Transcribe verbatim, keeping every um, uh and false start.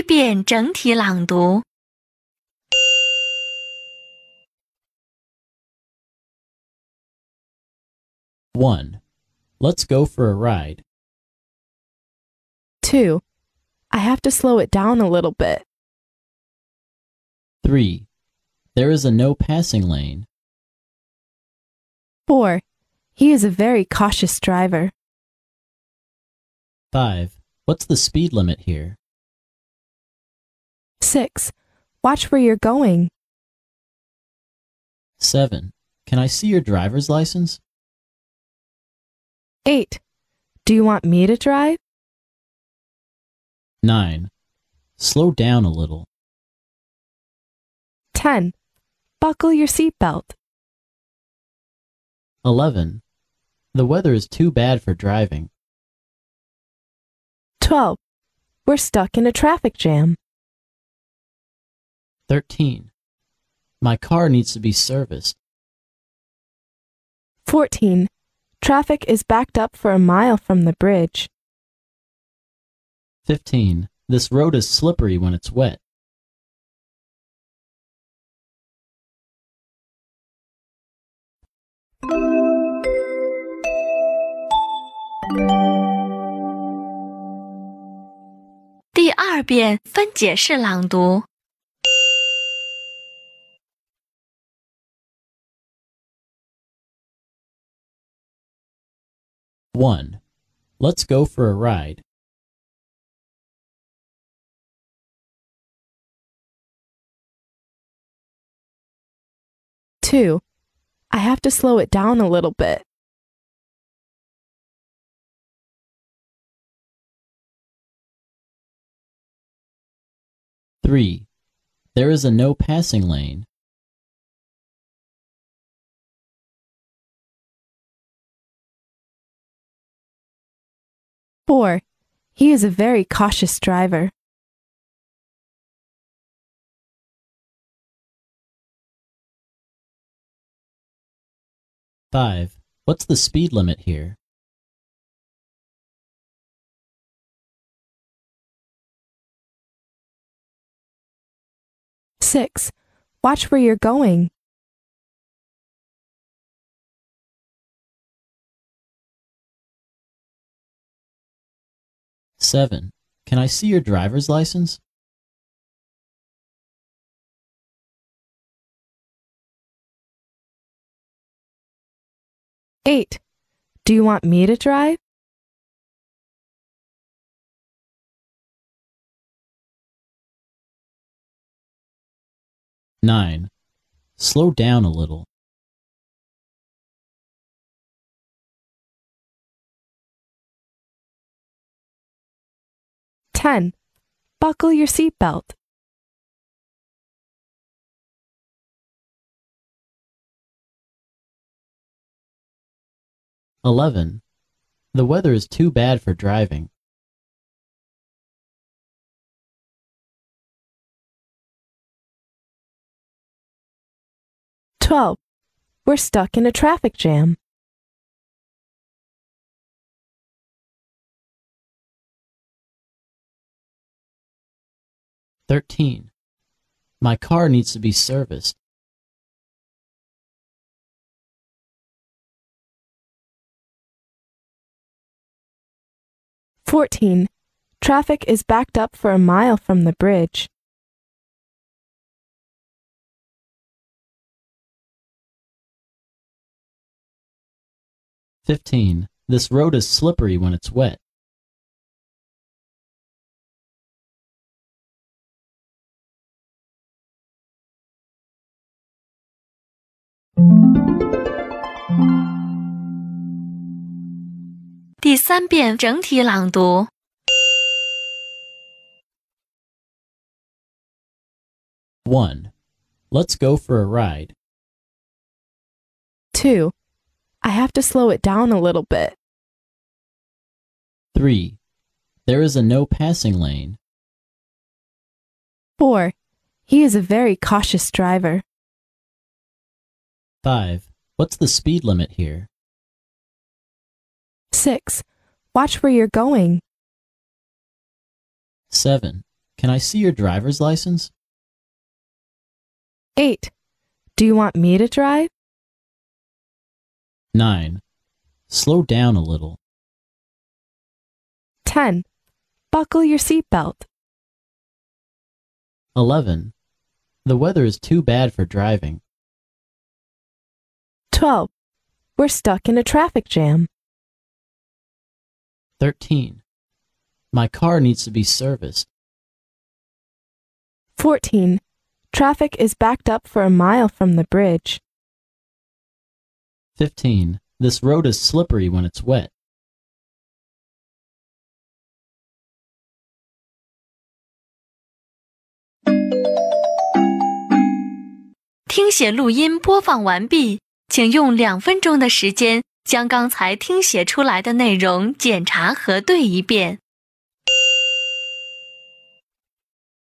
一遍整体朗读。 one. Let's go for a ride. two. I have to slow it down a little bit. three. There is a no passing lane. four. He is a very cautious driver. five. What's the speed limit here? six. Watch where you're going. seven. Can I see your driver's license? eight. Do you want me to drive? nine. Slow down a little. ten. Buckle your seatbelt. eleven. The weather is too bad for driving. twelve. We're stuck in a traffic jam. thirteen. My car needs to be serviced. fourteen. Traffic is backed up for a mile from the bridge. fifteen. This road is slippery when it's wet. 《第二遍分解式朗读。 one. Let's go for a ride. two. I have to slow it down a little bit. three. There is a no passing lane. four. He is a very cautious driver. five. What's the speed limit here? six. Watch where you're going. seven. Can I see your driver's license? eight. Do you want me to drive? nine. Slow down a little. ten. Buckle your seatbelt. eleven. The weather is too bad for driving. twelve. We're stuck in a traffic jam. thirteen. My car needs to be serviced. fourteen. Traffic is backed up for a mile from the bridge. fifteen. This road is slippery when it's wet. 《第三遍整体朗读。 one. Let's go for a ride. two. I have to slow it down a little bit. three. There is a no passing lane. four. He is a very cautious driver. five. What's the speed limit here? six. Watch where you're going. seven. Can I see your driver's license? eight. Do you want me to drive? nine. Slow down a little. ten. Buckle your seatbelt. eleven. The weather is too bad for driving. twelve. We're stuck in a traffic jam. thirteen. My car needs to be serviced. fourteen. Traffic is backed up for a mile from the bridge. fifteen. This road is slippery when it's wet. 听写录音播放完毕，请用两分钟的时间将刚才听写出来的内容检查核对一遍。